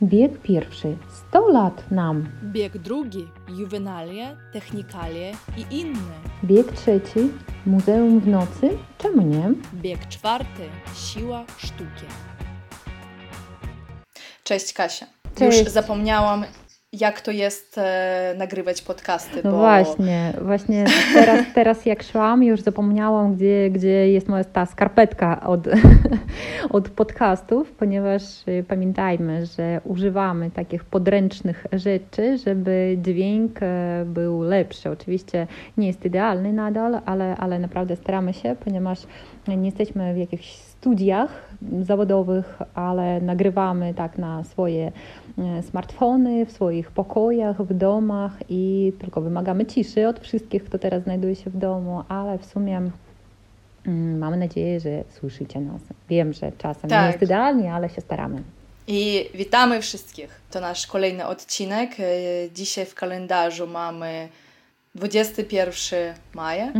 Bieg pierwszy. 100 lat nam. Bieg drugi. Juwenalie, technikalie i inne. Bieg trzeci. Muzeum w nocy. Czemu nie? Bieg czwarty. Siła sztuki. Cześć Kasia. Cześć. Już zapomniałam, jak to jest nagrywać podcasty. No bo... właśnie teraz jak szłam, już zapomniałam, gdzie jest moja ta skarpetka od podcastów, ponieważ pamiętajmy, że używamy takich podręcznych rzeczy, żeby dźwięk był lepszy. Oczywiście nie jest idealny nadal, ale naprawdę staramy się, ponieważ nie jesteśmy w jakichś studiach zawodowych, ale nagrywamy tak na swoje smartfony, w swoich pokojach, w domach i tylko wymagamy ciszy od wszystkich, kto teraz znajduje się w domu, ale w sumie mamy nadzieję, że słyszycie nas. Wiem, że czasem nie jest idealnie, ale się staramy. I witamy wszystkich. To nasz kolejny odcinek. Dzisiaj w kalendarzu mamy 21 maja.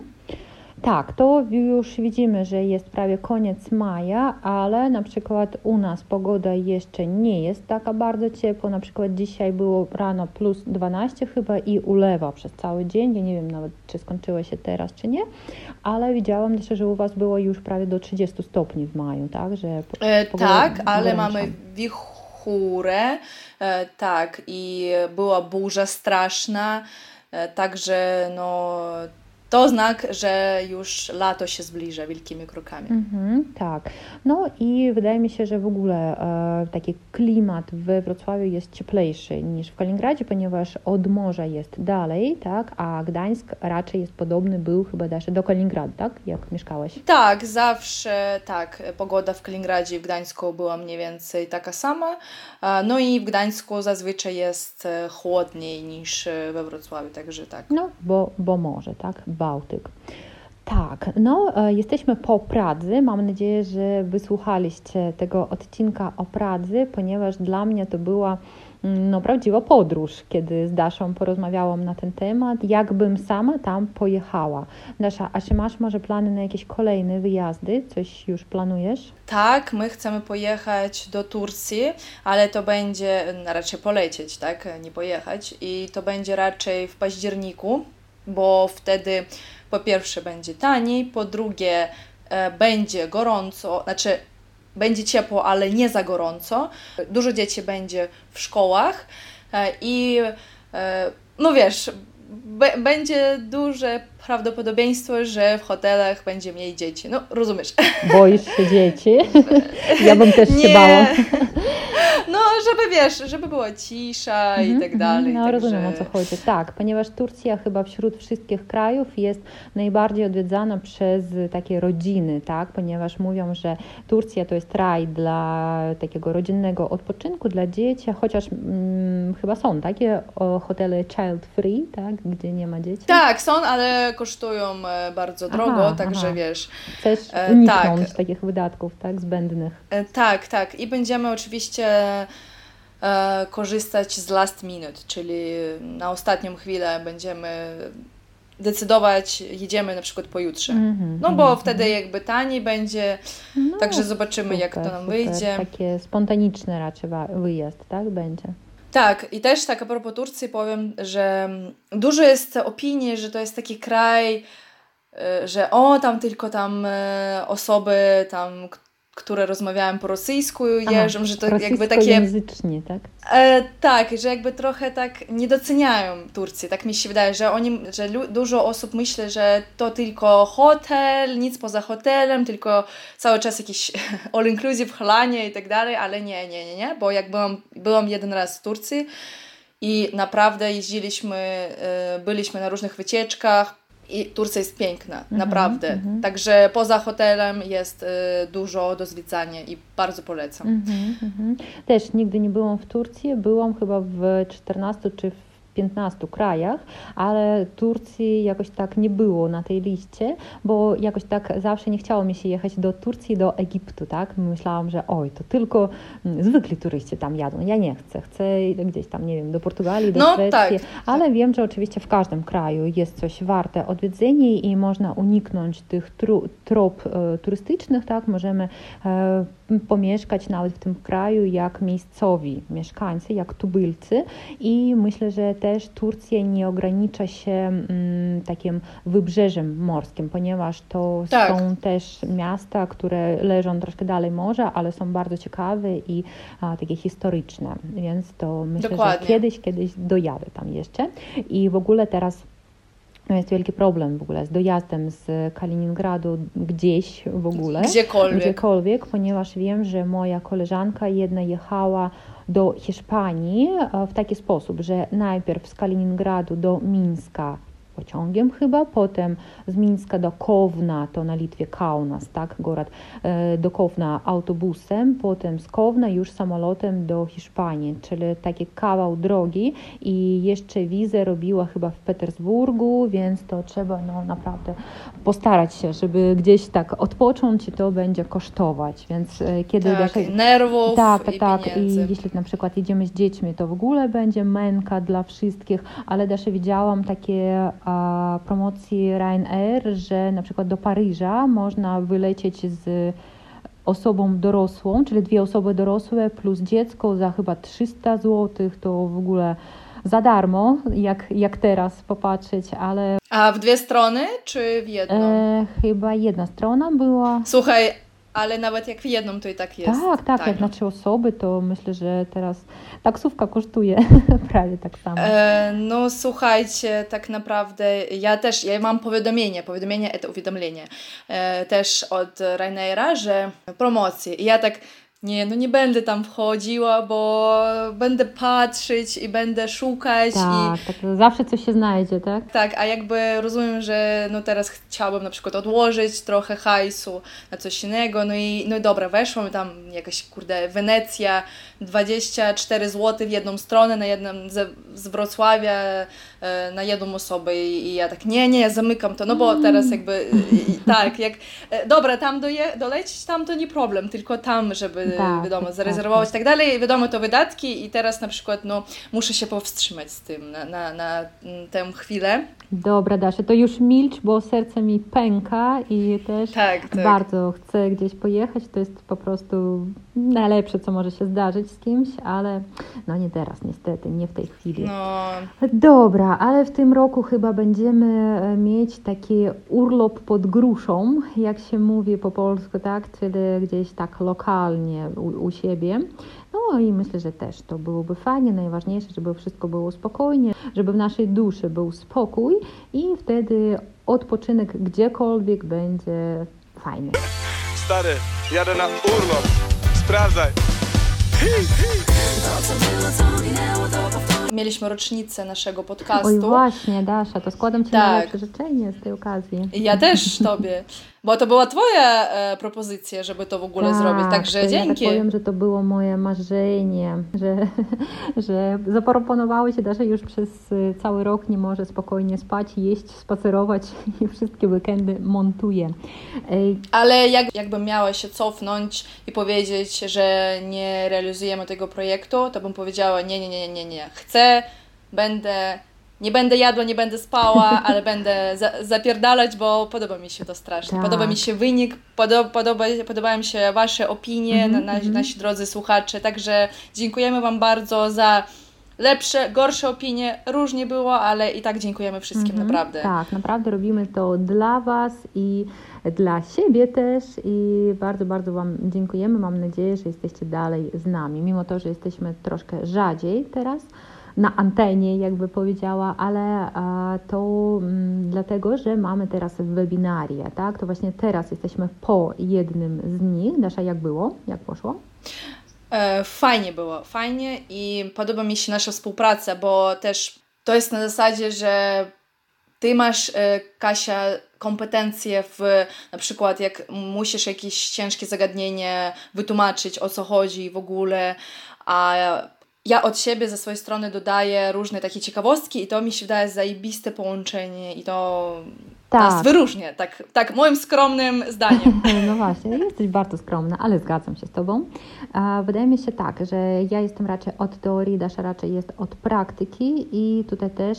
Tak, to już widzimy, że jest prawie koniec maja, ale na przykład u nas pogoda jeszcze nie jest taka bardzo ciepła. Na przykład dzisiaj było rano plus 12 chyba i ulewa przez cały dzień. Ja nie wiem nawet, czy skończyło się teraz, czy nie, ale widziałam też, że u Was było już prawie do 30 stopni w maju, tak? Że tak, ale mamy wichurę, tak, i była burza straszna, także no... To znak, że już lato się zbliża wielkimi krokami. Tak. No i wydaje mi się, że w ogóle taki klimat we Wrocławiu jest cieplejszy niż w Kaliningradzie, ponieważ od morza jest dalej, tak? A Gdańsk raczej jest podobny, był chyba też do Kaliningradu, tak? Jak mieszkałeś? Tak, zawsze tak. Pogoda w Kaliningradzie i w Gdańsku była mniej więcej taka sama. No i w Gdańsku zazwyczaj jest chłodniej niż we Wrocławiu, także tak. No, bo morze, tak? Bałtyk. Tak, no jesteśmy po Pradze. Mam nadzieję, że wysłuchaliście tego odcinka o Pradze, ponieważ dla mnie to była prawdziwa podróż, kiedy z Daszą porozmawiałam na ten temat, jakbym sama tam pojechała. Dasza, a czy masz może plany na jakieś kolejne wyjazdy? Coś już planujesz? Tak, my chcemy pojechać do Turcji, ale to będzie raczej polecieć, tak, nie pojechać i to będzie raczej w październiku, bo wtedy po pierwsze będzie taniej, po drugie będzie gorąco, znaczy będzie ciepło, ale nie za gorąco. Dużo dzieci będzie w szkołach i no wiesz, będzie duże prawdopodobieństwo, że w hotelach będzie mniej dzieci. No, rozumiesz. Boisz się dzieci? Ja bym też się bała. No, żeby wiesz, żeby była cisza i tak dalej. No, także... rozumiem, o co chodzi. Tak, ponieważ Turcja chyba wśród wszystkich krajów jest najbardziej odwiedzana przez takie rodziny, tak? Ponieważ mówią, że Turcja to jest raj dla takiego rodzinnego odpoczynku dla dzieci, chociaż chyba są takie hotele child free, tak? Gdzie nie ma dzieci. Tak, są, ale kosztują bardzo drogo, także wiesz. Chcesz uniknąć takich wydatków, tak? Zbędnych. Tak. I będziemy oczywiście korzystać z last minute, czyli na ostatnią chwilę będziemy decydować, jedziemy na przykład pojutrze. Bo wtedy jakby taniej będzie, także zobaczymy, jak to nam wyjdzie. Takie spontaniczne raczej wyjazd, tak? Będzie. Tak, i też tak a propos Turcji powiem, że dużo jest opinii, że to jest taki kraj, że tam tylko osoby które rozmawiają po rosyjsku jeżdżą, że to jakby takie... języcznie, tak? Tak, że jakby trochę tak nie doceniają Turcji. Tak mi się wydaje, że dużo osób myśli, że to tylko hotel, nic poza hotelem, tylko cały czas jakiś all inclusive, chlanie i tak dalej, ale nie, bo jak byłam jeden raz w Turcji i naprawdę byliśmy na różnych wycieczkach, i Turcja jest piękna, naprawdę. Także poza hotelem jest dużo do zwiedzania i bardzo polecam. Też nigdy nie byłam w Turcji, byłam chyba w 14 czy w 15 krajach, ale Turcji jakoś tak nie było na tej liście, bo jakoś tak zawsze nie chciało mi się jechać do Turcji, do Egiptu, tak? Myślałam, że to tylko zwykli turyści tam jadą. Ja nie chcę. Chcę gdzieś tam, nie wiem, do Portugalii, do Szwecji, tak. Ale wiem, że oczywiście w każdym kraju jest coś warte odwiedzenia i można uniknąć tych trop turystycznych, tak? Możemy pomieszkać nawet w tym kraju jak miejscowi mieszkańcy, jak tubylcy i myślę, że też Turcja nie ogranicza się takim wybrzeżem morskim, ponieważ to są też miasta, które leżą troszkę dalej morza, ale są bardzo ciekawe i takie historyczne, więc to myślę, że kiedyś dojadę tam jeszcze i w ogóle teraz jest wielki problem w ogóle z dojazdem z Kaliningradu gdzieś w ogóle. Gdziekolwiek, ponieważ wiem, że moja koleżanka jedna jechała do Hiszpanii w taki sposób, że najpierw z Kaliningradu do Mińska pociągiem chyba, potem z Mińska do Kowna, to na Litwie Kaunas, tak, город, do Kowna autobusem, potem z Kowna już samolotem do Hiszpanii, czyli taki kawał drogi i jeszcze wizę robiła chyba w Petersburgu, więc to trzeba naprawdę postarać się, żeby gdzieś tak odpocząć i to będzie kosztować, więc kiedy nerwów i pieniędzy. I jeśli na przykład jedziemy z dziećmi, to w ogóle będzie męka dla wszystkich, ale też widziałam takie promocji Ryanair, że na przykład do Paryża można wylecieć z osobą dorosłą, czyli 2 osoby dorosłe plus dziecko za chyba 300 zł, to w ogóle za darmo, jak teraz popatrzeć, ale... A w 2 strony, czy w jedną? Chyba jedna strona była. Słuchaj, ale nawet jak w jedną, to i tak jest. Tak, jak na 3 osoby, to myślę, że teraz taksówka kosztuje prawie tak samo. No słuchajcie, tak naprawdę ja mam powiadomienie, to uwiadomienie też od Ryanaira, że promocji. I ja tak, nie będę tam wchodziła, bo będę patrzeć i będę szukać. Tak, zawsze coś się znajdzie, tak? Tak, a jakby rozumiem, że teraz chciałabym na przykład odłożyć trochę hajsu na coś innego, no i dobra, weszłam tam jakaś, Wenecja, 24 zł w jedną stronę, z Wrocławia na jedną osobę i ja tak, ja zamykam to, bo teraz jakby, dobra, tam dolecieć, tam to nie problem, tylko tam, żeby wiadomo, zarezerwować i tak dalej, wiadomo, to wydatki i teraz na przykład, muszę się powstrzymać z tym na tę chwilę. Dobra, Dasza, to już milcz, bo serce mi pęka i też bardzo chcę gdzieś pojechać. To jest po prostu najlepsze, co może się zdarzyć z kimś, ale nie teraz niestety, nie w tej chwili. Dobra, ale w tym roku chyba będziemy mieć taki urlop pod gruszą, jak się mówi po polsku, tak? Czyli gdzieś tak lokalnie u siebie. No i myślę, że też to byłoby fajnie, najważniejsze, żeby wszystko było spokojnie, żeby w naszej duszy był spokój i wtedy odpoczynek gdziekolwiek będzie fajny. Stary, jadę na urlop, sprawdzaj. Mieliśmy rocznicę naszego podcastu. Oj właśnie, Dasza, to składam Ci najlepsze życzenie z tej okazji. Ja też Tobie, bo to była Twoja propozycja, żeby to w ogóle zrobić, także dzięki. Ja tak powiem, że to było moje marzenie, że zaproponowałeś się, Dasza już przez cały rok nie może spokojnie spać, jeść, spacerować i wszystkie weekendy montuje. Ale jakbym miała się cofnąć i powiedzieć, że nie realizujemy tego projektu, to bym powiedziała nie. Chcę, nie będę jadła, nie będę spała, ale będę zapierdalać, bo podoba mi się to strasznie. Tak. Podoba mi się wynik, podobają mi się Wasze opinie, nasi drodzy słuchacze. Także dziękujemy Wam bardzo za lepsze, gorsze opinie. Różnie było, ale i tak dziękujemy wszystkim, naprawdę. Tak, naprawdę robimy to dla Was i dla siebie też i bardzo, bardzo Wam dziękujemy. Mam nadzieję, że jesteście dalej z nami, mimo to, że jesteśmy troszkę rzadziej teraz na antenie, jakby powiedziała, ale to dlatego, że mamy teraz webinaria, tak? To właśnie teraz jesteśmy po jednym z nich. Dasza, jak było? Jak poszło? Fajnie było, fajnie i podoba mi się nasza współpraca, bo też to jest na zasadzie, że Ty masz, Kasia, kompetencje na przykład jak musisz jakieś ciężkie zagadnienie wytłumaczyć, o co chodzi w ogóle, a ja od siebie ze swojej strony dodaję różne takie ciekawostki i to mi się wydaje zajebiste połączenie i to nas wyróżnia, tak moim skromnym zdaniem. No właśnie, jesteś bardzo skromna, ale zgadzam się z Tobą. Wydaje mi się tak, że ja jestem raczej od teorii, Dasza raczej jest od praktyki i tutaj też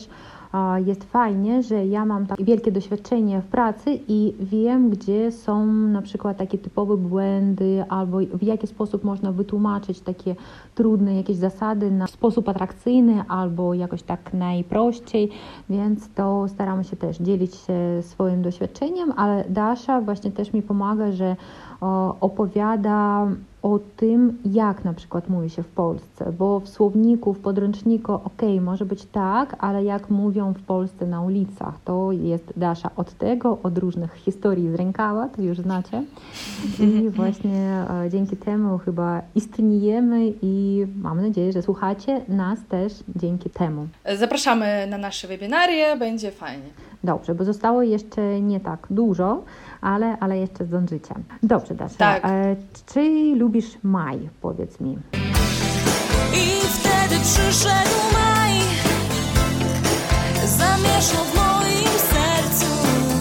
jest fajnie, że ja mam tak wielkie doświadczenie w pracy i wiem, gdzie są na przykład takie typowe błędy albo w jaki sposób można wytłumaczyć takie trudne jakieś zasady w sposób atrakcyjny albo jakoś tak najprościej, więc to staramy się też dzielić się swoim doświadczeniem, ale Dasza właśnie też mi pomaga, że opowiada o tym, jak na przykład mówi się w Polsce, bo w słowniku, w podręczniku może być tak, ale jak mówią w Polsce na ulicach, to jest Dasza od tego, od różnych historii z rękawa, to już znacie. I właśnie dzięki temu chyba istniejemy i mam nadzieję, że słuchacie nas też dzięki temu. Zapraszamy na nasze webinarie, będzie fajnie. Dobrze, bo zostało jeszcze nie tak dużo, ale jeszcze zdążycie. Dobrze, Dasza. Tak. Czy lubisz maj? Powiedz mi. I wtedy przyszedł maj, zamieszał w moim sercu.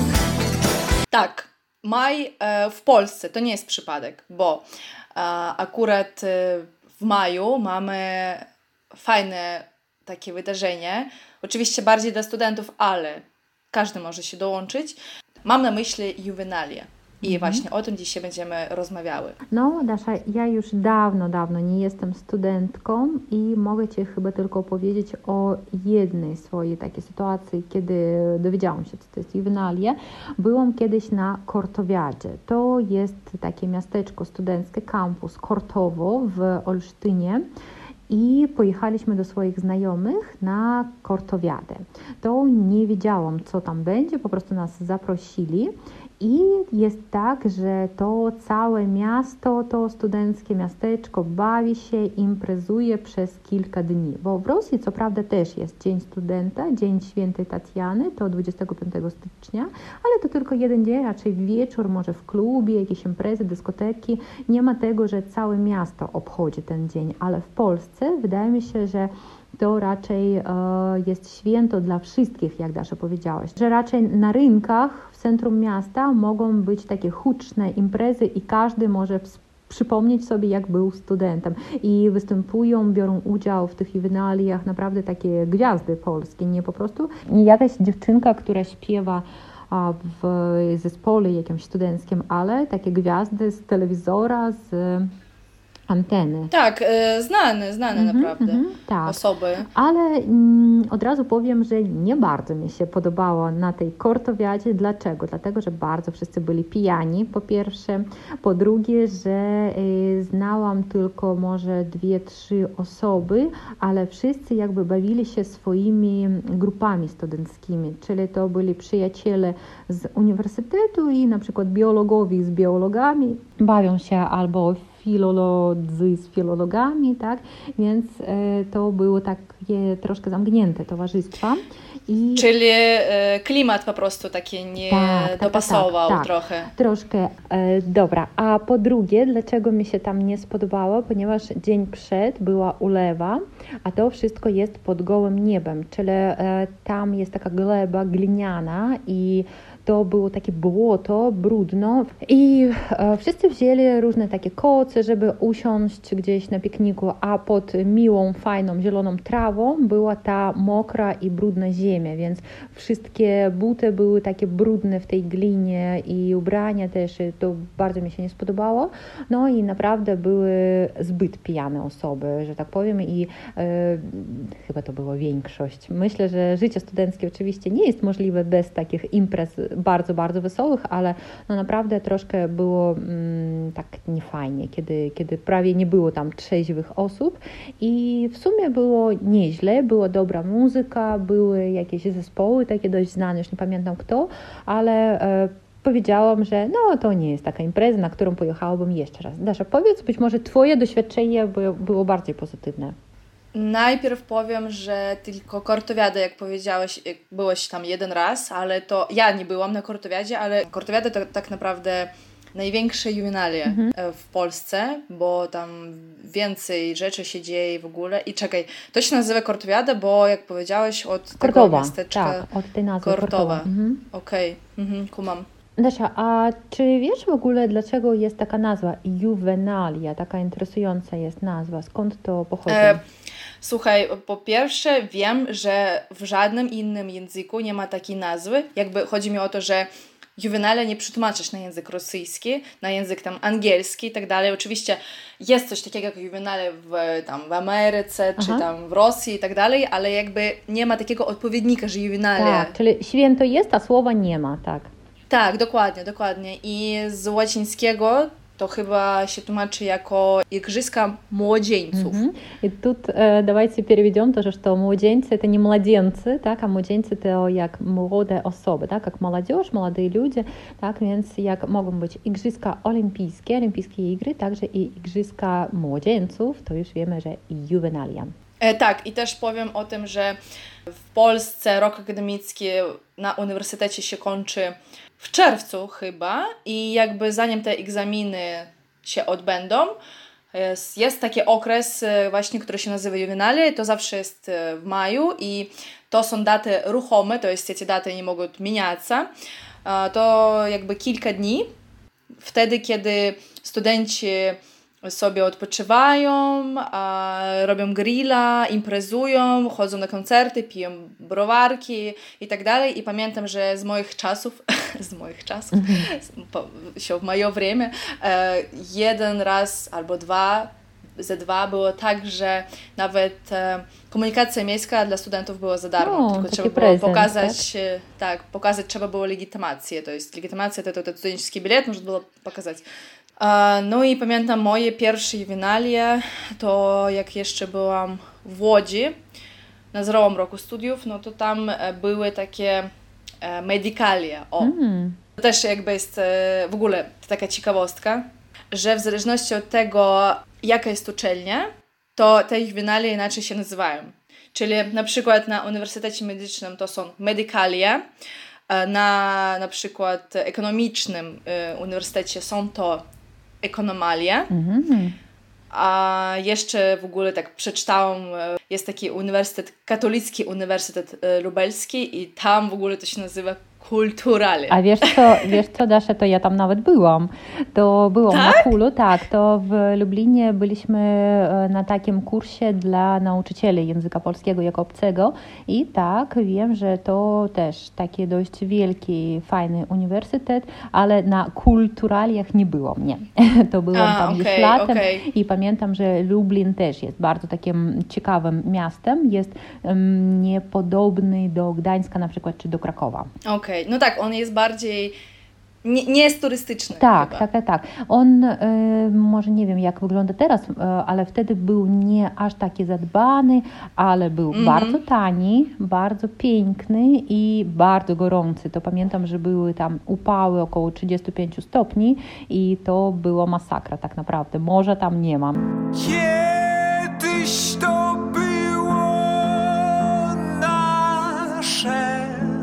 Tak, maj w Polsce to nie jest przypadek, bo akurat w maju mamy fajne takie wydarzenie, oczywiście bardziej dla studentów, ale każdy może się dołączyć. Mam na myśli juwenalie. I właśnie o tym dzisiaj będziemy rozmawiały. No, Dasza, ja już dawno nie jestem studentką i mogę Ci chyba tylko powiedzieć o jednej swojej takiej sytuacji, kiedy dowiedziałam się, co to jest juwenalia. Byłam kiedyś na Kortowiadzie. To jest takie miasteczko studenckie, kampus Kortowo w Olsztynie. I pojechaliśmy do swoich znajomych na Kortowiadę. To nie wiedziałam, co tam będzie, po prostu nas zaprosili. I jest tak, że to całe miasto, to studenckie miasteczko bawi się, imprezuje przez kilka dni. Bo w Rosji co prawda też jest Dzień Studenta, Dzień Świętej Tatiany, to 25 stycznia, ale to tylko jeden dzień, raczej wieczór, może w klubie, jakieś imprezy, dyskoteki. Nie ma tego, że całe miasto obchodzi ten dzień, ale w Polsce wydaje mi się, że to raczej jest święto dla wszystkich, jak Dasza powiedziałaś, że raczej na rynkach w centrum miasta mogą być takie huczne imprezy i każdy może przypomnieć sobie, jak był studentem. I występują, biorą udział w tych juwenaliach naprawdę takie gwiazdy polskie, nie po prostu nie jakaś dziewczynka, która śpiewa w zespole jakimś studenckim, ale takie gwiazdy z telewizora, z anteny. Tak, znane naprawdę tak. osoby. Ale od razu powiem, że nie bardzo mi się podobało na tej Kortowiadzie. Dlaczego? Dlatego, że bardzo wszyscy byli pijani, po pierwsze. Po drugie, że znałam tylko może 2-3 osoby, ale wszyscy jakby bawili się swoimi grupami studenckimi, czyli to byli przyjaciele z uniwersytetu i na przykład biologowie z biologami bawią się albo filolodzy z filologami, tak? Więc to było takie troszkę zamknięte towarzystwa. Czyli klimat po prostu taki nie dopasował trochę. Troszkę. Dobra. A po drugie, dlaczego mi się tam nie spodobało? Ponieważ dzień przed była ulewa, a to wszystko jest pod gołym niebem, czyli tam jest taka gleba gliniana i to było takie błoto, brudno i wszyscy wzięli różne takie koce, żeby usiąść gdzieś na pikniku, a pod miłą, fajną, zieloną trawą była ta mokra i brudna ziemia, więc wszystkie buty były takie brudne w tej glinie i ubrania też, i to bardzo mi się nie spodobało. No i naprawdę były zbyt pijane osoby, że tak powiem, i chyba to była większość. Myślę, że życie studenckie oczywiście nie jest możliwe bez takich imprez bardzo, bardzo wesołych, ale no naprawdę troszkę było tak niefajnie, kiedy prawie nie było tam trzeźwych osób i w sumie było nieźle, była dobra muzyka, były jakieś zespoły takie dość znane, już nie pamiętam kto, ale powiedziałam, że no to nie jest taka impreza, na którą pojechałabym jeszcze raz. Dasza, powiedz, być może Twoje doświadczenie było bardziej pozytywne. Najpierw powiem, że tylko Kortowiada, jak powiedziałeś, byłeś tam jeden raz, ale to ja nie byłam na Kortowiadzie, ale Kortowiada to tak naprawdę największe juwenalie w Polsce, bo tam więcej rzeczy się dzieje w ogóle. I czekaj, to się nazywa Kortowiada, bo jak powiedziałeś od Kortowa, tego miasteczka... tak, od tej nazwy Kortowa. Okej, kumam. Dasza, a czy wiesz w ogóle, dlaczego jest taka nazwa juwenalia, taka interesująca jest nazwa? Skąd to pochodzi? Słuchaj, po pierwsze wiem, że w żadnym innym języku nie ma takiej nazwy. Jakby chodzi mi o to, że juwenalia nie przetłumaczysz na język rosyjski, na język tam angielski i tak dalej. Oczywiście jest coś takiego jak juwenalia w Ameryce, czy tam w Rosji i tak dalej, ale jakby nie ma takiego odpowiednika, że juwenalia... Tak, czyli święto jest, a słowa nie ma, tak. Tak, dokładnie. I z łacińskiego to chyba się tłumaczy jako igrzyska młodzieńców. И тут давайте переведем тоже, что младенцы это не младенцы, так, а młodzieńcy to jak młode osoby, tak, jak młodzież, молодые ludzie, tak, więc jak mogą być igrzyska olimpijskie igry, także i igrzyska młodzieńców, to już wiemy, że juwenalia. Tak, i też powiem o tym, że w Polsce rok akademicki na uniwersytecie się kończy w czerwcu chyba i jakby zanim te egzaminy się odbędą, jest taki okres właśnie, który się nazywa juwenalia, to zawsze jest w maju i to są daty ruchome, to jest te daty nie mogą zmieniać. To jakby kilka dni, wtedy kiedy studenci sobie odpoczywają, robią grilla, imprezują, chodzą na koncerty, piją browarki i tak dalej. I pamiętam, że z moich czasów, się w moje время, jeden raz albo ze dwa było tak, że nawet komunikacja miejska dla studentów była za darmo, tylko trzeba było pokazać, pokazać trzeba było legitymację, to jest legitymacja, to studencki bilet można było pokazać. No i pamiętam moje pierwsze juwenalie, to jak jeszcze byłam w Łodzi na zerowym roku studiów, no to tam były takie medikalia. To też jakby jest w ogóle taka ciekawostka, że w zależności od tego, jaka jest uczelnia, to te juwenalie inaczej się nazywają. Czyli na przykład na Uniwersytecie Medycznym to są medikalia, na przykład ekonomicznym uniwersytecie są to ekonomalia, a jeszcze w ogóle tak przeczytałam, jest taki uniwersytet, katolicki Uniwersytet Lubelski i tam w ogóle to się nazywa kulturale. A wiesz co, Dasza, to ja tam nawet byłam. To byłam na KUL-u, tak, to w Lublinie byliśmy na takim kursie dla nauczycieli języka polskiego jako obcego i tak, wiem, że to też taki dość wielki, fajny uniwersytet, ale na kulturaliach nie byłam, nie. To byłam tam gdzieś latem i pamiętam, że Lublin też jest bardzo takim ciekawym miastem, jest niepodobny do Gdańska na przykład, czy do Krakowa. No tak, on jest bardziej, nie jest turystyczny. Tak. On, może nie wiem jak wygląda teraz, ale wtedy był nie aż taki zadbany, ale był bardzo tani, bardzo piękny i bardzo gorący. To pamiętam, że były tam upały około 35 stopni i to była masakra tak naprawdę. Morza tam nie ma. Kiedyś to było nasze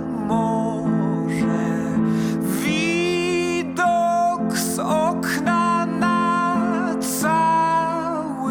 z okna na cały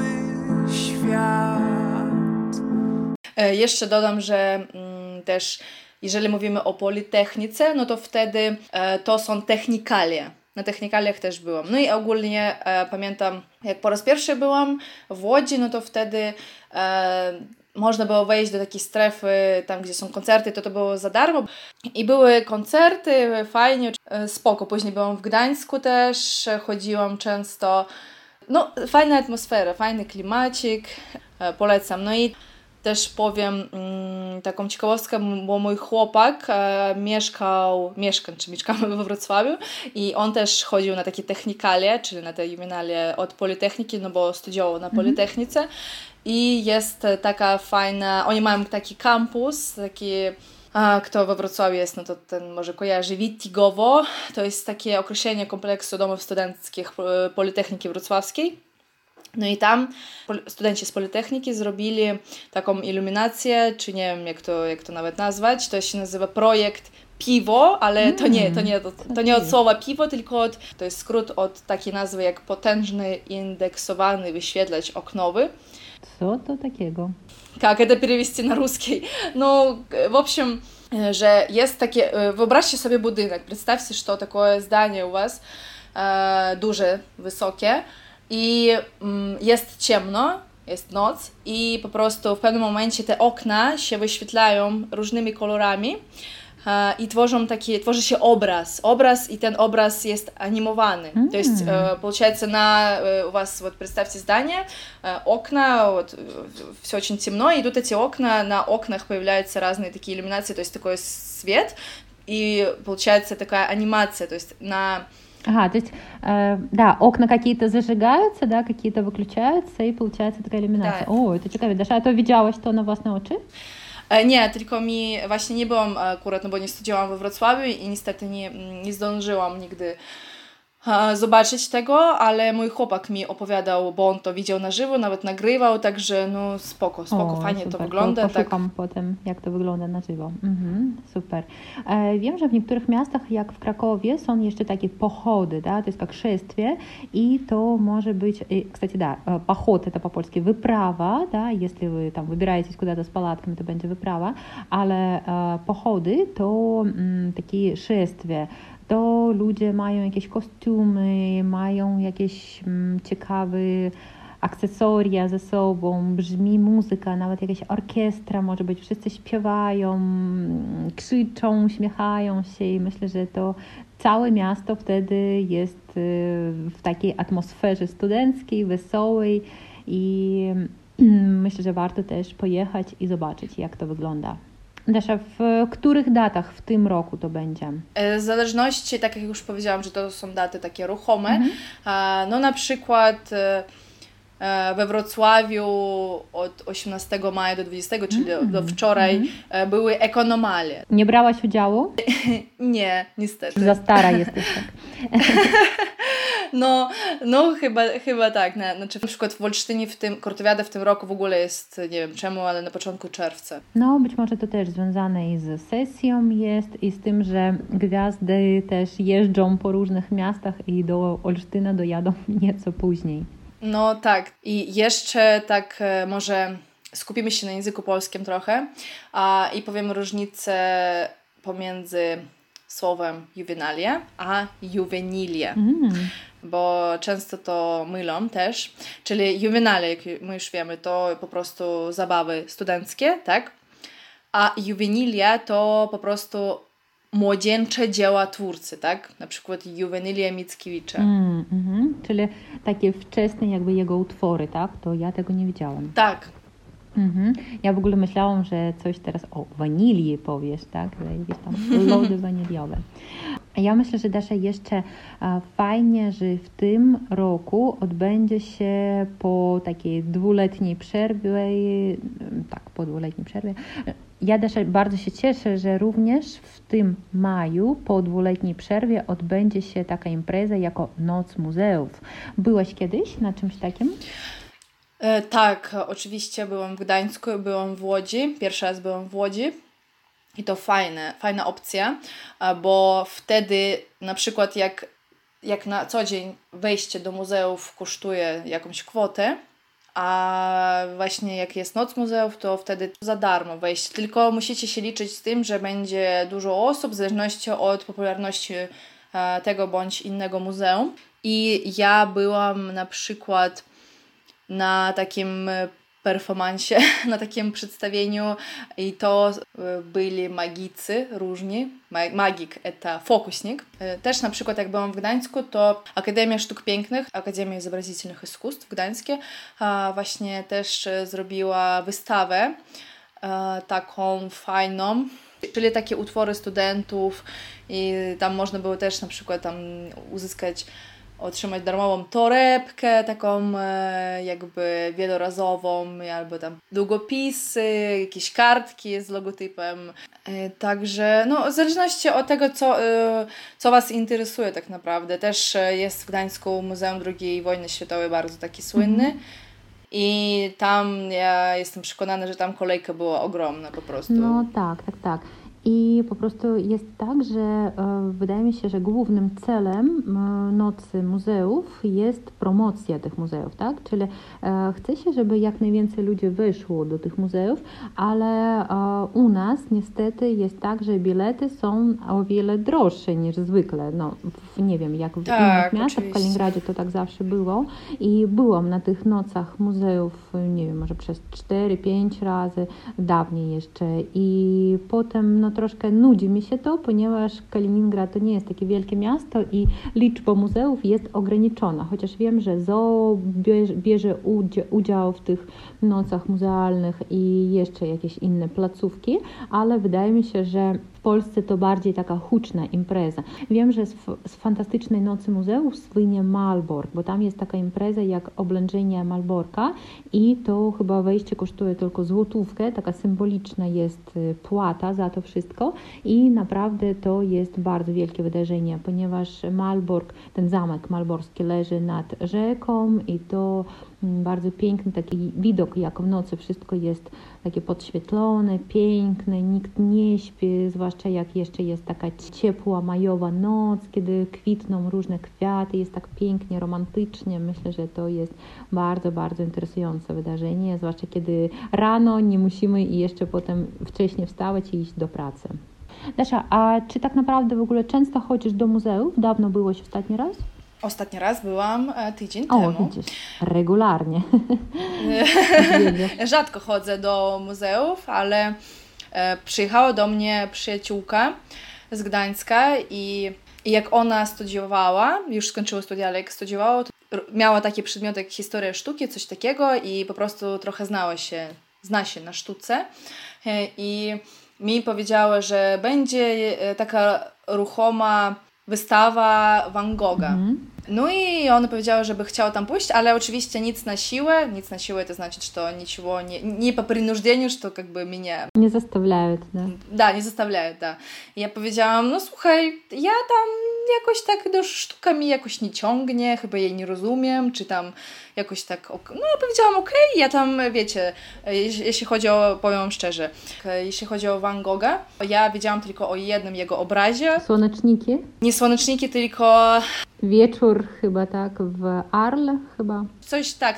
świat. Jeszcze dodam, że też jeżeli mówimy o Politechnice, no to wtedy to są technikalie. Na technikaliach też byłam. No i ogólnie pamiętam, jak po raz pierwszy byłam w Łodzi, no to wtedy można było wejść do takiej strefy, tam gdzie są koncerty, to było za darmo. I były koncerty, fajnie, spoko. Później byłam w Gdańsku też, chodziłam często. No, fajna atmosfera, fajny klimacik, polecam. I też powiem taką ciekawostkę, bo mój chłopak mieszkamy we Wrocławiu i on też chodził na takie technikalie, czyli na te juwenalie od Politechniki, no bo studiował na Politechnice. I jest taka fajna, oni mają taki kampus, taki, kto we Wrocławiu jest, no to ten może kojarzy, Wittigowo, to jest takie określenie kompleksu domów studenckich Politechniki Wrocławskiej. No i tam studenci z Politechniki zrobili taką iluminację, czy nie wiem jak to nawet nazwać, to się nazywa projekt Piwo, ale to nie od słowa piwo, tylko to jest skrót od takiej nazwy jak potężny indeksowany wyświetlacz oknowy. Co to takiego? Как это перевести на русский? Ну, в общем, że jest takie, wyobraźcie sobie budynek, представьте, что такое здание у вас, duże, wysokie i jest ciemno jest noc i po prostu w pewnym momencie te okna się wyświetlają różnymi kolorami i tworzy się obraz i ten obraz jest animowany. То есть, получается, у вас, вот представьте здание, окна, вот, все очень темно, и идут эти окна, на окнах появляются разные такие иллюминации, то есть такой свет, и получается такая анимация, то есть на... Ага, то есть, да, окна какие-то зажигаются, да, какие-то выключаются, и получается такая иллюминация. Да. O, to ciekawe, Dasza, a to widziałaś to na własne oczy? Nie, tylko właśnie nie byłam akurat, no bo nie studiowałam we Wrocławiu i niestety nie zdążyłam nigdy zobaczyć tego, ale mój chłopak mi opowiadał, bo on to widział na żywo, nawet nagrywał, także no spoko, fajnie super. to wygląda. Poszukam potem, jak to wygląda na żywo. Super. Wiem, że w niektórych miastach, jak w Krakowie, są jeszcze takie pochody, да, to jest jak szествие, i to może być, кстати, да, поход это по-польски wyprawa, да, если вы там выбираетесь куда-то с палатками, to będzie wyprawa, ale pochody to takie szествие. To ludzie mają jakieś kostiumy, mają jakieś ciekawe akcesoria ze sobą, brzmi muzyka, nawet jakaś orkiestra może być, wszyscy śpiewają, krzyczą, uśmiechają się i myślę, że to całe miasto wtedy jest w takiej atmosferze studenckiej, wesołej i myślę, że warto też pojechać i zobaczyć, jak to wygląda. Dasza, w których datach w tym roku to będzie? W zależności, tak jak już powiedziałam, że to są daty takie ruchome, no na przykład we Wrocławiu od 18 maja do 20, czyli do wczoraj, były ekonomalie. Nie brałaś udziału? Nie, niestety. Za stara jesteś, tak. No chyba tak. Znaczy na przykład w Olsztynie, Kortowiada w tym roku w ogóle jest, nie wiem czemu, ale na początku czerwca. No, być może to też związane i z sesją jest i z tym, że gwiazdy też jeżdżą po różnych miastach i do Olsztyna dojadą nieco później. No tak. I jeszcze tak może skupimy się na języku polskim trochę i powiem różnicę pomiędzy słowem juvenalia a juvenilie, bo często to mylą też, czyli juvenalia, jak my już wiemy, to po prostu zabawy studenckie, tak? A juvenilia to po prostu młodzieńcze dzieła twórcy, tak? Na przykład Juwenilia Mickiewicza. Czyli takie wczesne jakby jego utwory, tak? To ja tego nie widziałam. Tak. Ja w ogóle myślałam, że coś teraz o wanilii powiesz, tak? Jakieś tam lody waniliowe. Ja myślę, że Dasza, jeszcze fajnie, że w tym roku odbędzie się po takiej dwuletniej przerwie, ja Dasza bardzo się cieszę, że również w tym maju po dwuletniej przerwie odbędzie się taka impreza jako Noc Muzeów. Byłaś kiedyś na czymś takim? Tak, oczywiście byłam w Gdańsku, byłam w Łodzi, pierwszy raz byłam w Łodzi i to fajna opcja, bo wtedy na przykład jak na co dzień wejście do muzeów kosztuje jakąś kwotę, a właśnie jak jest Noc Muzeów, to wtedy za darmo wejść, tylko musicie się liczyć z tym, że będzie dużo osób w zależności od popularności tego bądź innego muzeum i ja byłam na przykład na takim performansie, na takim przedstawieniu i to byli magicy różni. Magik to fokusnik. Też na przykład jak byłam w Gdańsku, to Akademia Sztuk Pięknych, Akademia Изобразительных Искусств Gdańskie właśnie też zrobiła wystawę taką fajną, czyli takie utwory studentów i tam można było też na przykład tam otrzymać darmową torebkę, taką jakby wielorazową, albo tam długopisy, jakieś kartki z logotypem. Także no, w zależności od tego, co Was interesuje tak naprawdę. Też jest w Gdańsku Muzeum II Wojny Światowej bardzo taki słynny. I tam ja jestem przekonana, że tam kolejka była ogromna po prostu. No tak. I po prostu jest tak, że wydaje mi się, że głównym celem Nocy Muzeów jest promocja tych muzeów, tak? Czyli chce się, żeby jak najwięcej ludzi wyszło do tych muzeów, ale u nas niestety jest tak, że bilety są o wiele droższe niż zwykle. No, nie wiem, jak w innych miastach, w Kaliningradzie to tak zawsze było. I byłam na tych nocach muzeów, nie wiem, może przez 4-5 razy, dawniej jeszcze. I potem no troszkę nudzi mi się to, ponieważ Kaliningrad to nie jest takie wielkie miasto i liczba muzeów jest ograniczona. Chociaż wiem, że zoo bierze udział w tych nocach muzealnych i jeszcze jakieś inne placówki, ale wydaje mi się, że w Polsce to bardziej taka huczna impreza. Wiem, że z fantastycznej Nocy Muzeów słynie Malbork, bo tam jest taka impreza jak oblężenie Malborka i to chyba wejście kosztuje tylko złotówkę, taka symboliczna jest płata za to wszystko i naprawdę to jest bardzo wielkie wydarzenie, ponieważ Malbork, ten zamek malborski leży nad rzeką i to bardzo piękny taki widok, jak w nocy wszystko jest takie podświetlone, piękne, nikt nie śpi, zwłaszcza jak jeszcze jest taka ciepła majowa noc, kiedy kwitną różne kwiaty, jest tak pięknie, romantycznie. Myślę, że to jest bardzo, bardzo interesujące wydarzenie, zwłaszcza kiedy rano nie musimy i jeszcze potem wcześniej wstawać i iść do pracy. Dasza, a czy tak naprawdę w ogóle często chodzisz do muzeów? Dawno byłeś ostatni raz? Ostatni raz byłam tydzień temu. O, widzisz, regularnie. Rzadko chodzę do muzeów, ale przyjechała do mnie przyjaciółka z Gdańska i jak ona studiowała, już skończyła studia, ale jak studiowała, to miała takie przedmioty jak historia sztuki, coś takiego i po prostu trochę zna się na sztuce i mi powiedziała, że będzie taka ruchoma wystawa Van Gogha. No i ona powiedziała, żeby chciała tam pójść, ale oczywiście nic na siłę to значит, что ничего не по принуждению, что как бы меня... Nie zastawiają, да? Да, nie zastawiają, да. I ja powiedziałam, no słuchaj, ja tam jakoś tak do sztuka mi jakoś nie ciągnie, chyba jej nie rozumiem, czy tam jakoś tak... No powiedziałam, okej, ja tam, wiecie, jeśli chodzi o, powiem szczerze, jeśli chodzi o Van Gogha, ja wiedziałam tylko o jednym jego obrazie. Słoneczniki? Nie słoneczniki, tylko... Wieczór chyba, tak, w Arles chyba. Coś, tak.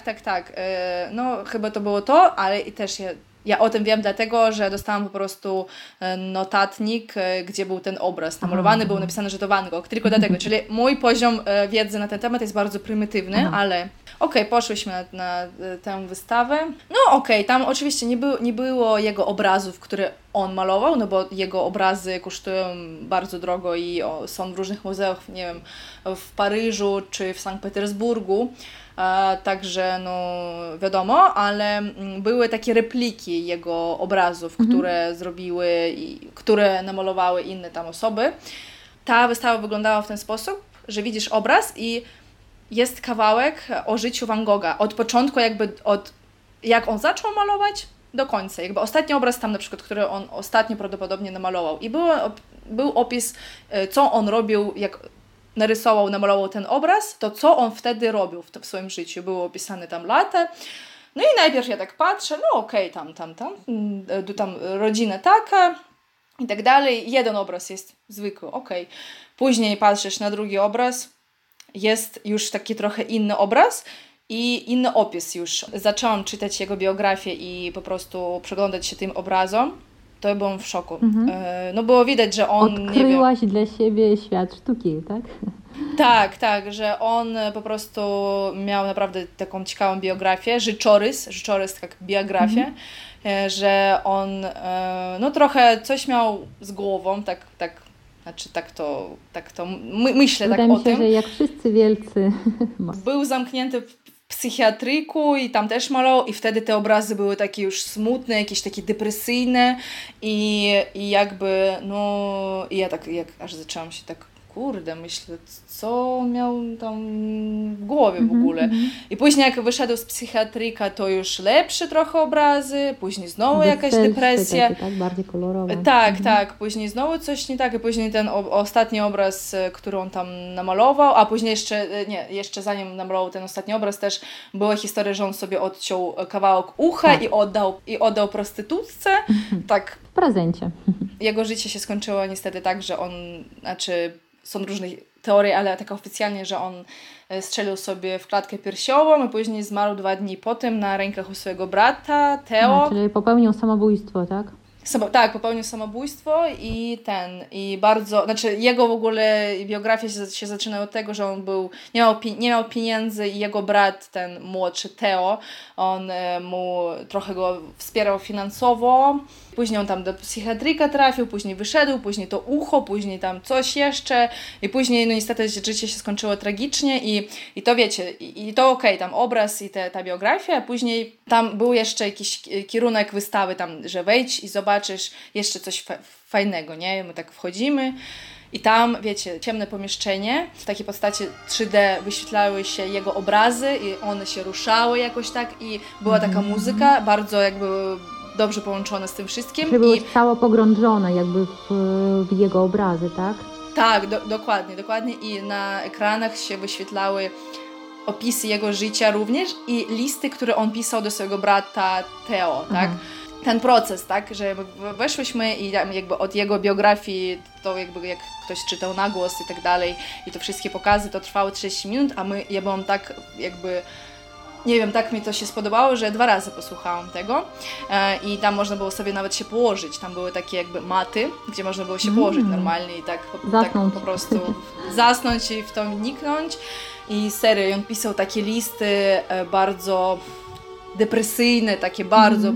No chyba to było to, ale i też ja o tym wiem dlatego, że dostałam po prostu notatnik, gdzie był ten obraz namalowany, był napisane, że to Van Gogh, tylko dlatego, czyli mój poziom wiedzy na ten temat jest bardzo prymitywny, ale poszłyśmy na tę wystawę. No tam oczywiście nie było jego obrazów, które on malował, no bo jego obrazy kosztują bardzo drogo i są w różnych muzeach, nie wiem, w Paryżu czy w Sankt Petersburgu. Także no wiadomo, ale były takie repliki jego obrazów, które zrobiły i które namalowały inne tam osoby. Ta wystawa wyglądała w ten sposób, że widzisz obraz i jest kawałek o życiu Van Gogha. Od początku jak on zaczął malować do końca. Jakby ostatni obraz tam na przykład, który on ostatnio prawdopodobnie namalował. I był opis, co on robił, jak namalował ten obraz, to co on wtedy robił w swoim życiu. Było opisane tam lata. No i najpierw ja tak patrzę, no tam rodzina taka i tak dalej. Jeden obraz jest zwykły, Później patrzysz na drugi obraz, jest już taki trochę inny obraz i inny opis już. Zaczęłam czytać jego biografię i po prostu przeglądać się tym obrazom. To byłam w szoku. No było widać, że on... Odkryłaś dla siebie świat sztuki, tak? Tak, że on po prostu miał naprawdę taką ciekawą biografię, życiorys jak biografię, że on no trochę coś miał z głową, myślę Wydaje tak mi się, o tym. że jak wszyscy wielcy. Był zamknięty w psychiatryku i tam też malował i wtedy te obrazy były takie już smutne, jakieś takie depresyjne i jakby, no i ja tak aż zaczęłam się tak, kurde, myślę, co on miał tam w głowie w ogóle. I później jak wyszedł z psychiatryka, to już lepsze trochę obrazy, później znowu jakaś depresja. Takie, tak, bardziej kolorowe. Tak, później znowu coś nie tak, i później ten ostatni obraz, który on tam namalował, a później jeszcze zanim namalował ten ostatni obraz, też była historia, że on sobie odciął kawałek ucha i oddał prostytutce. Tak. W prezencie. Jego życie się skończyło niestety tak, że on, są różne teorie, ale tak oficjalnie, że on strzelił sobie w klatkę piersiową i później zmarł 2 dni potem na rękach u swojego brata, Theo. Czyli popełnił samobójstwo, tak? Tak, popełnił samobójstwo i bardzo, jego w ogóle biografia się zaczyna od tego, że on nie miał pieniędzy i jego brat, ten młodszy Theo, on mu trochę go wspierał finansowo. Później on tam do psychiatryka trafił, później wyszedł, później to ucho, później tam coś jeszcze i później niestety życie się skończyło tragicznie i to wiecie, i to okej, tam obraz i ta biografia, a później tam był jeszcze jakiś kierunek wystawy tam, że wejdź i zobaczysz jeszcze coś fajnego, nie? My tak wchodzimy i tam, wiecie, ciemne pomieszczenie, w takiej postaci 3D wyświetlały się jego obrazy i one się ruszały jakoś tak i była taka muzyka, bardzo jakby dobrze połączone z tym wszystkim. Czyli byłeś cało pogrążone jakby w jego obrazy, tak? Tak, dokładnie. I na ekranach się wyświetlały opisy jego życia również i listy, które on pisał do swojego brata Theo, tak? Ten proces, tak, że weszłyśmy i jakby od jego biografii, to jakby jak ktoś czytał na głos i tak dalej i to wszystkie pokazy, to trwało 30 minut, a ja byłam tak jakby, nie wiem, tak mi to się spodobało, że 2 razy posłuchałam tego i tam można było sobie nawet się położyć, tam były takie jakby maty, gdzie można było się położyć normalnie i tak po prostu zasnąć i w to wniknąć i serio, on pisał takie listy bardzo depresyjne, takie bardzo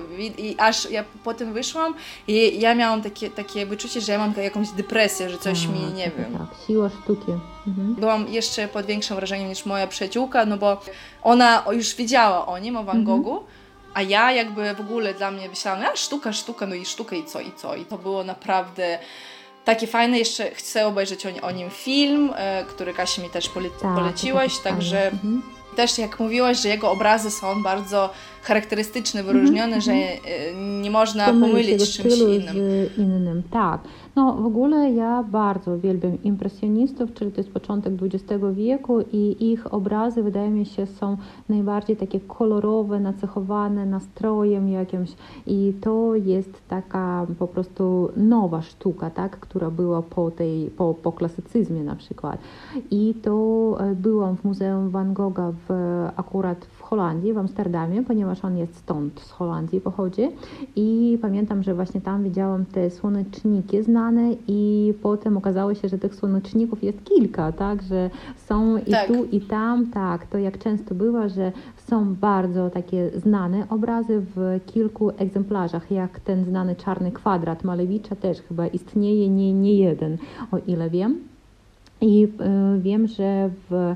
i aż ja potem wyszłam i ja miałam takie wyczucie, że ja mam jakąś depresję, że coś mi, nie wiem. Tak, siła sztuki. Byłam jeszcze pod większym wrażeniem niż moja przyjaciółka, no bo ona już wiedziała o nim, o Van Goghu, a ja jakby w ogóle dla mnie myślałam, sztuka, no i sztuka i co. I to było naprawdę takie fajne. Jeszcze chcę obejrzeć o nim film, który Kasia mi też poleciłaś, także też jak mówiłaś, że jego obrazy są bardzo charakterystyczne, wyróżnione, że nie można pomylić z czymś innym. Tak. No w ogóle ja bardzo uwielbiam impresjonistów, czyli to jest początek XX wieku i ich obrazy wydaje mi się są najbardziej takie kolorowe, nacechowane nastrojem jakimś i to jest taka po prostu nowa sztuka, tak, która była po klasycyzmie na przykład. I to byłam w Muzeum Van Gogha akurat w Holandii, w Amsterdamie, ponieważ on jest stąd, z Holandii pochodzi i pamiętam, że właśnie tam widziałam te słoneczniki znane i potem okazało się, że tych słoneczników jest kilka, tak, że są i tu i tam, tak, to jak często bywa, że są bardzo takie znane obrazy w kilku egzemplarzach, jak ten znany Czarny Kwadrat Malewicza też chyba istnieje nie jeden, o ile wiem. I wiem, że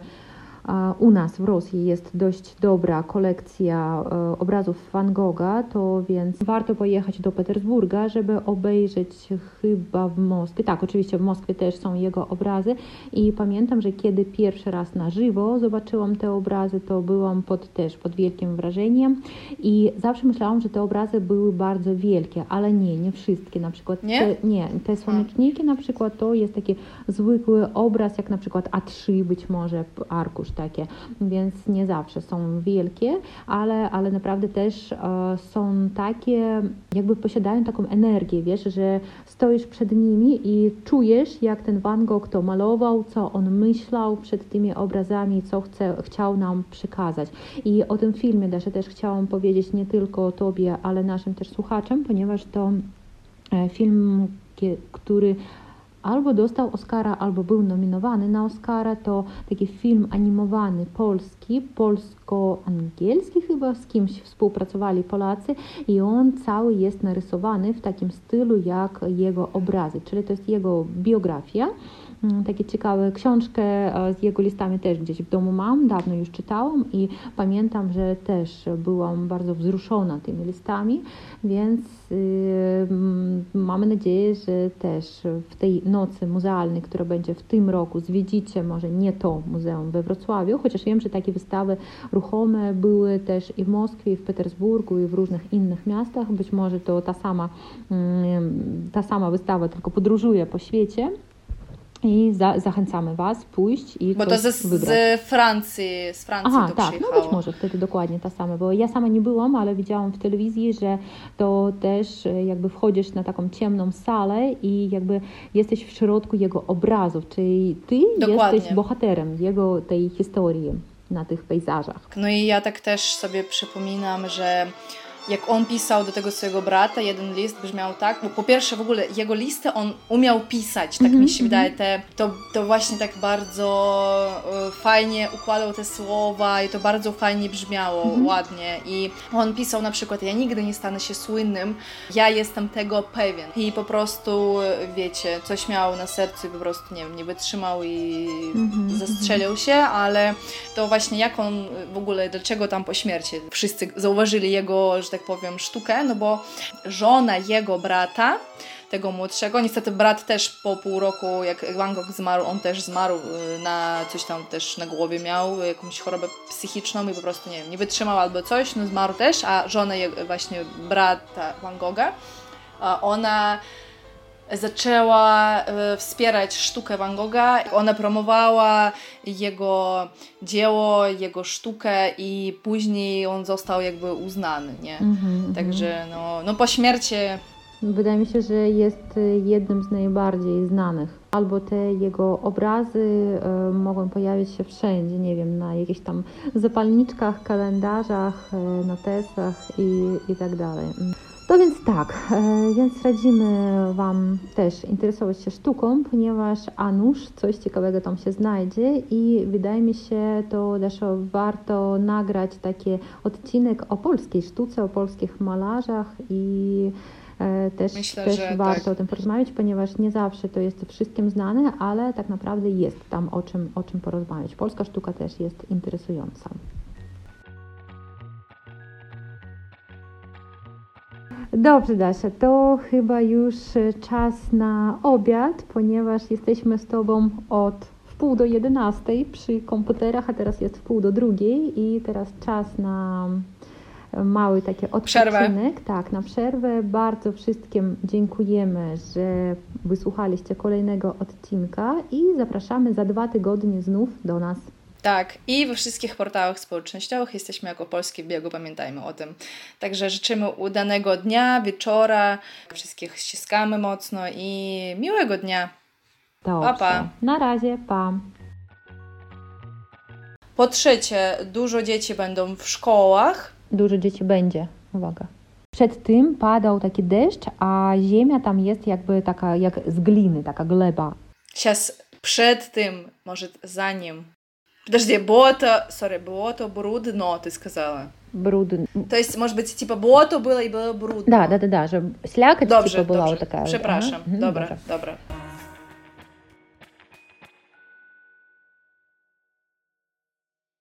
u nas w Rosji jest dość dobra kolekcja obrazów Van Gogha, to więc warto pojechać do Petersburga, żeby obejrzeć chyba w Moskwie. Tak, oczywiście w Moskwie też są jego obrazy i pamiętam, że kiedy pierwszy raz na żywo zobaczyłam te obrazy, to byłam pod wielkim wrażeniem i zawsze myślałam, że te obrazy były bardzo wielkie, ale nie wszystkie. Na przykład te słoneczniki na przykład to jest taki zwykły obraz, jak na przykład A3 być może, arkusz takie, więc nie zawsze są wielkie, ale naprawdę też są takie, jakby posiadają taką energię, wiesz, że stoisz przed nimi i czujesz, jak ten Van Gogh to malował, co on myślał przed tymi obrazami, co chciał nam przekazać. I o tym filmie też chciałam powiedzieć nie tylko tobie, ale naszym też słuchaczom, ponieważ to film, który albo dostał Oscara, albo był nominowany na Oscara, to taki film animowany polski, polsko-angielski chyba, z kimś współpracowali Polacy i on cały jest narysowany w takim stylu jak jego obrazy, czyli to jest jego biografia takie ciekawe książkę z jego listami też gdzieś w domu mam, dawno już czytałam i pamiętam, że też byłam bardzo wzruszona tymi listami, więc mamy nadzieję, że też w tej nocy muzealnej, która będzie w tym roku, zwiedzicie może nie to muzeum we Wrocławiu, chociaż wiem, że takie wystawy ruchome były też i w Moskwie, i w Petersburgu, i w różnych innych miastach. Być może to ta sama wystawa, tylko podróżuje po świecie. I zachęcamy Was pójść i bo to wybrać. z Francji Aha, to tak, przyjechało. no być może wtedy dokładnie ta sama, bo ja sama nie byłam, ale widziałam w telewizji, że to też jakby wchodzisz na taką ciemną salę i jakby jesteś w środku jego obrazów, czyli Ty jesteś bohaterem jego tej historii na tych pejzażach. No i ja tak też sobie przypominam, że jak on pisał do tego swojego brata, jeden list brzmiał tak, bo po pierwsze w ogóle jego listy on umiał pisać, tak mi się wydaje, to właśnie tak bardzo fajnie układał te słowa i to bardzo fajnie brzmiało, ładnie i on pisał na przykład, ja nigdy nie stanę się słynnym, ja jestem tego pewien i po prostu, wiecie, coś miał na sercu i po prostu, nie wiem, nie wytrzymał i zastrzelił się, ale to właśnie jak on w ogóle, dlaczego tam po śmierci wszyscy zauważyli jego, że tak powiem, sztukę, no bo żona jego brata, tego młodszego, niestety brat też po pół roku, jak Van Gogh zmarł, on też zmarł na coś tam też na głowie miał, jakąś chorobę psychiczną i po prostu, nie wiem, nie wytrzymał albo coś, no zmarł też, a żona właśnie brata Van Gogha, ona zaczęła wspierać sztukę Van Gogha. Ona promowała jego dzieło, jego sztukę i później on został jakby uznany, nie? Także no po śmierci... Wydaje mi się, że jest jednym z najbardziej znanych. Albo te jego obrazy mogą pojawić się wszędzie, nie wiem, na jakichś tam zapalniczkach, kalendarzach, notesach i tak dalej. No więc tak, więc radzimy Wam też interesować się sztuką, ponieważ a nuż coś ciekawego tam się znajdzie i wydaje mi się to też warto nagrać taki odcinek o polskiej sztuce, o polskich malarzach i też warto o tym porozmawiać, ponieważ nie zawsze to jest wszystkim znane, ale tak naprawdę jest tam o czym porozmawiać. Polska sztuka też jest interesująca. Dobrze, Dasia, to chyba już czas na obiad, ponieważ jesteśmy z Tobą od 10:30 przy komputerach, a teraz jest 11:30 i teraz czas na mały taki odpoczynek. Tak, na przerwę. Bardzo wszystkim dziękujemy, że wysłuchaliście kolejnego odcinka i zapraszamy za 2 tygodnie znów do nas. Tak, i we wszystkich portalach społecznościowych jesteśmy jako Polskie w biegu, pamiętajmy o tym. Także życzymy udanego dnia, wieczora, wszystkich ściskamy mocno i miłego dnia. Dobrze. Pa, pa. Na razie, pa. Po trzecie, dużo dzieci będą w szkołach. Dużo dzieci będzie, uwaga. Przed tym padał taki deszcz, a ziemia tam jest jakby taka, jak z gliny, taka gleba. Сейчас przed tym, może za nim. Подожди, было то брудно, ты сказала. Брудно. То есть, может быть, типа было и было брудно. Да, że слякоть Dobrze, типа была dobrze. вот такая. Przepraszam. Вот. Dobra.